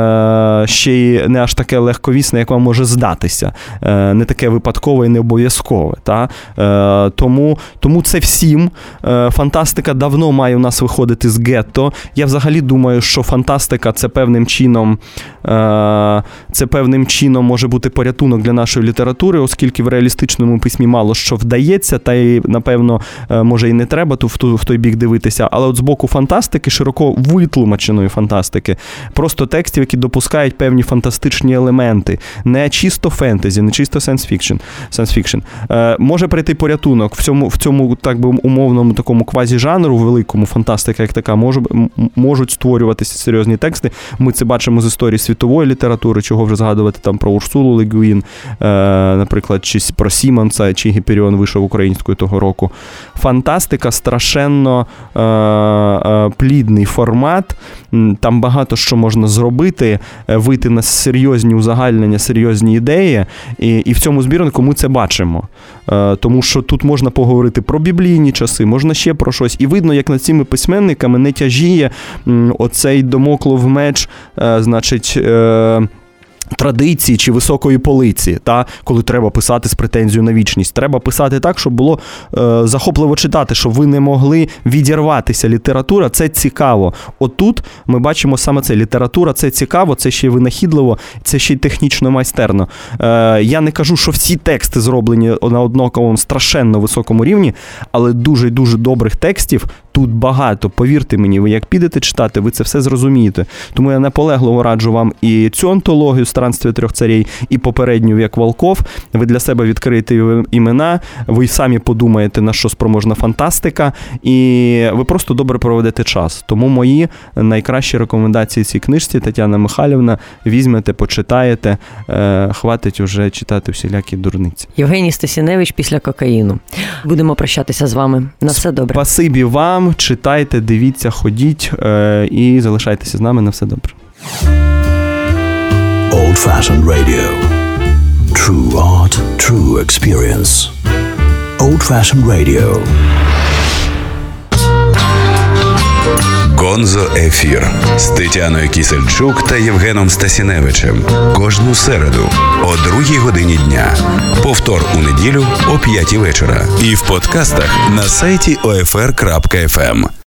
Speaker 2: е, ще й не аж таке легковісне, як вам може здатися. Е, не таке випадкове і не обов'язкове. Та? Е, тому, тому це всім. Е, фантастика давно має у нас виходити з гетто. Я взагалі думаю, що фантастика – це певним чином, е, це певним чином може бути порятунок для нашої літератури, оскільки в реалістичному письмі мало що вдається, та й, напевно, може і не треба в, ту, в той бік дивитися, але от з боку фантастики, широко витлумаченої фантастики, просто текстів, які допускають певні фантастичні елементи, не чисто фентезі, не чисто сайнс-фікшн, сайнс-фікшн. Е, може прийти порятунок в цьому, в цьому, так би, умовному такому квазі-жанру, великому, фантастика як така, може, можуть створюватися серйозні тексти. Ми це бачимо з історії світової літератури, чого вже згадувати там про Урсулу Ле Гюїн, наприклад, чи про Сімонса, чи Гіперіон вийшов українською того року. Фантастика страшенно е, е, плідний формат, там багато що можна зробити, вийти на серйозні узагальнення, серйозні ідеї, і, і в цьому збірнику ми це бачимо. Е, тому що тут можна поговорити про біблійні часи, можна ще про щось, і видно, як над цими письменниками не тяжіє м, оцей домоклов меч, е, значить, е, традиції чи високої полиці, та, коли треба писати з претензією на вічність. Треба писати так, щоб було е, захопливо читати, щоб ви не могли відірватися. Література – це цікаво. Отут ми бачимо саме це. Література – це цікаво, це ще й винахідливо, це ще й технічно майстерно. Е, я не кажу, що всі тексти зроблені на однаковому страшенно високому рівні, але дуже-дуже добрих текстів тут багато. Повірте мені, ви як підете читати, ви це все зрозумієте. Тому я наполегливо раджу вам і цю антологію «Странствие трьох царей», і попередню «Вік волков». Ви для себе відкриєте імена, ви самі подумаєте, на що спроможна фантастика, і ви просто добре проведете час. Тому мої найкращі рекомендації цій книжці, Тетяна Михайлівна, візьмете, почитаєте, е, хватить уже читати всілякі дурниці.
Speaker 1: Євгеній Стасіневич після кокаїну. Будемо прощатися з вами. На все добре.
Speaker 2: Спасибі вам, читайте, дивіться, ходіть е, і залишайтеся з нами. На все добре.
Speaker 4: Old-fashioned radio. True art, true experience. Old-fashioned radio.
Speaker 3: Гонзо Ефір з Тетяною Кісельчук та Євгеном Стасіневичем. Кожну середу о другій годині дня. Повтор у неділю о п'ятій вечора. І в подкастах на сайті о еф ер крапка еф ем.